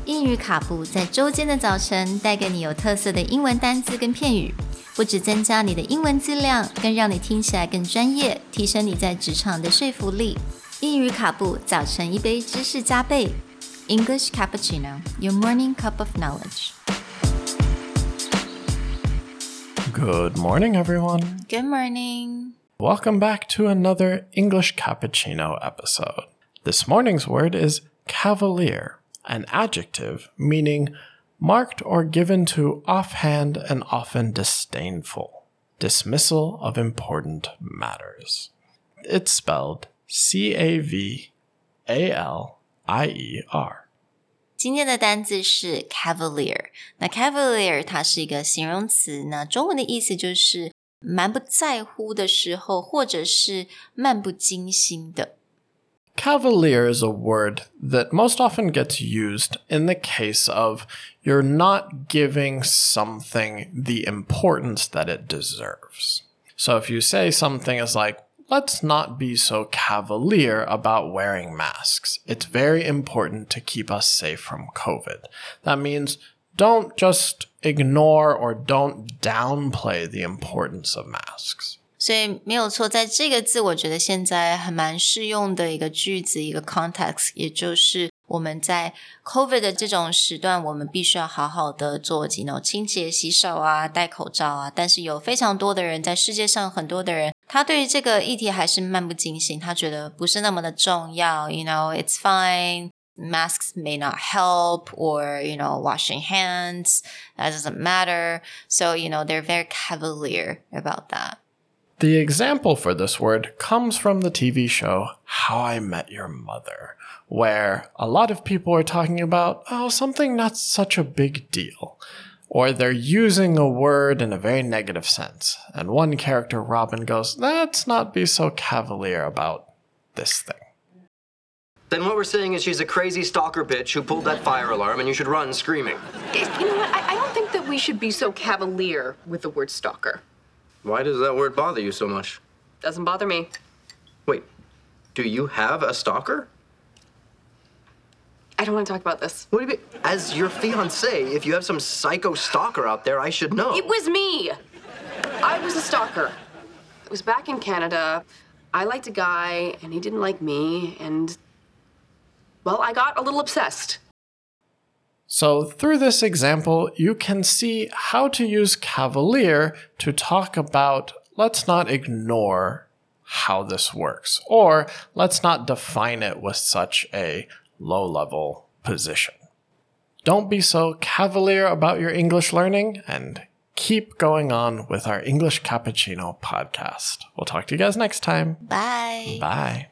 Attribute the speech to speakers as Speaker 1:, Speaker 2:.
Speaker 1: 英语卡布在周间的早晨带给你有特色的英文单字跟片语，不只增加你的英文质量，更让你听起来更专业，提升你在职场的说服力。英语卡布早晨一杯知识加倍 English Cappuccino, your morning cup of knowledge.
Speaker 2: Good morning, everyone.
Speaker 1: Good morning.
Speaker 2: Welcome back to another English Cappuccino episode. This morning's word is cavalier, an adjective meaning marked or given to offhand and often disdainful, dismissal of important matters. It's spelled C-A-V-A-L-I-E-R.
Speaker 1: 今天的单字是 cavalier。那 cavalier 它是一个形容词，那中文的意思就是蛮不在乎的时候，或者是漫不经心的。
Speaker 2: Cavalier is a word that most often gets used in the case of you're not giving something the importance that it deserves. So if you say something is like, let's not be so cavalier about wearing masks. It's very important to keep us safe from COVID. That means don't just ignore or don't downplay the importance of masks.
Speaker 1: 所以没有错，在这个字我觉得现在还蛮适用的一个句子，一个 context， 也就是我们在 COVID 的这种时段，我们必须要好好的做清洁、洗手啊，戴口罩啊，但是有非常多的人，在世界上很多的人，他对于这个议题还是漫不经心，他觉得不是那么的重要 it's fine, masks may not help, or washing hands, that doesn't matter. So they're very cavalier about that.
Speaker 2: The example for this word comes from the TV show How I Met Your Mother, where a lot of people are talking about, something not such a big deal. Or they're using a word in a very negative sense. And one character, Robin, goes, let's not be so cavalier about this thing.
Speaker 3: Then what we're saying is she's a crazy stalker bitch who pulled that fire alarm and you should run screaming.
Speaker 4: You know what? I don't think that we should be so cavalier with the word stalker.
Speaker 3: Why does that word bother you so much?
Speaker 4: Doesn't bother me.
Speaker 3: Wait, do you have a stalker?
Speaker 4: I don't want to talk about this.
Speaker 3: What do you mean? As your fiancé, if you have some psycho stalker out there, I should know.
Speaker 4: It was me. I was a stalker. It was back in Canada. I liked a guy, and he didn't like me, and, well, I got a little obsessed.
Speaker 2: So through this example, you can see how to use cavalier to talk about let's not ignore how this works, or let's not define it with such a low-level position. Don't be so cavalier about your English learning, and keep going on with our English Cappuccino podcast. We'll talk to you guys next time.
Speaker 1: Bye.
Speaker 2: Bye.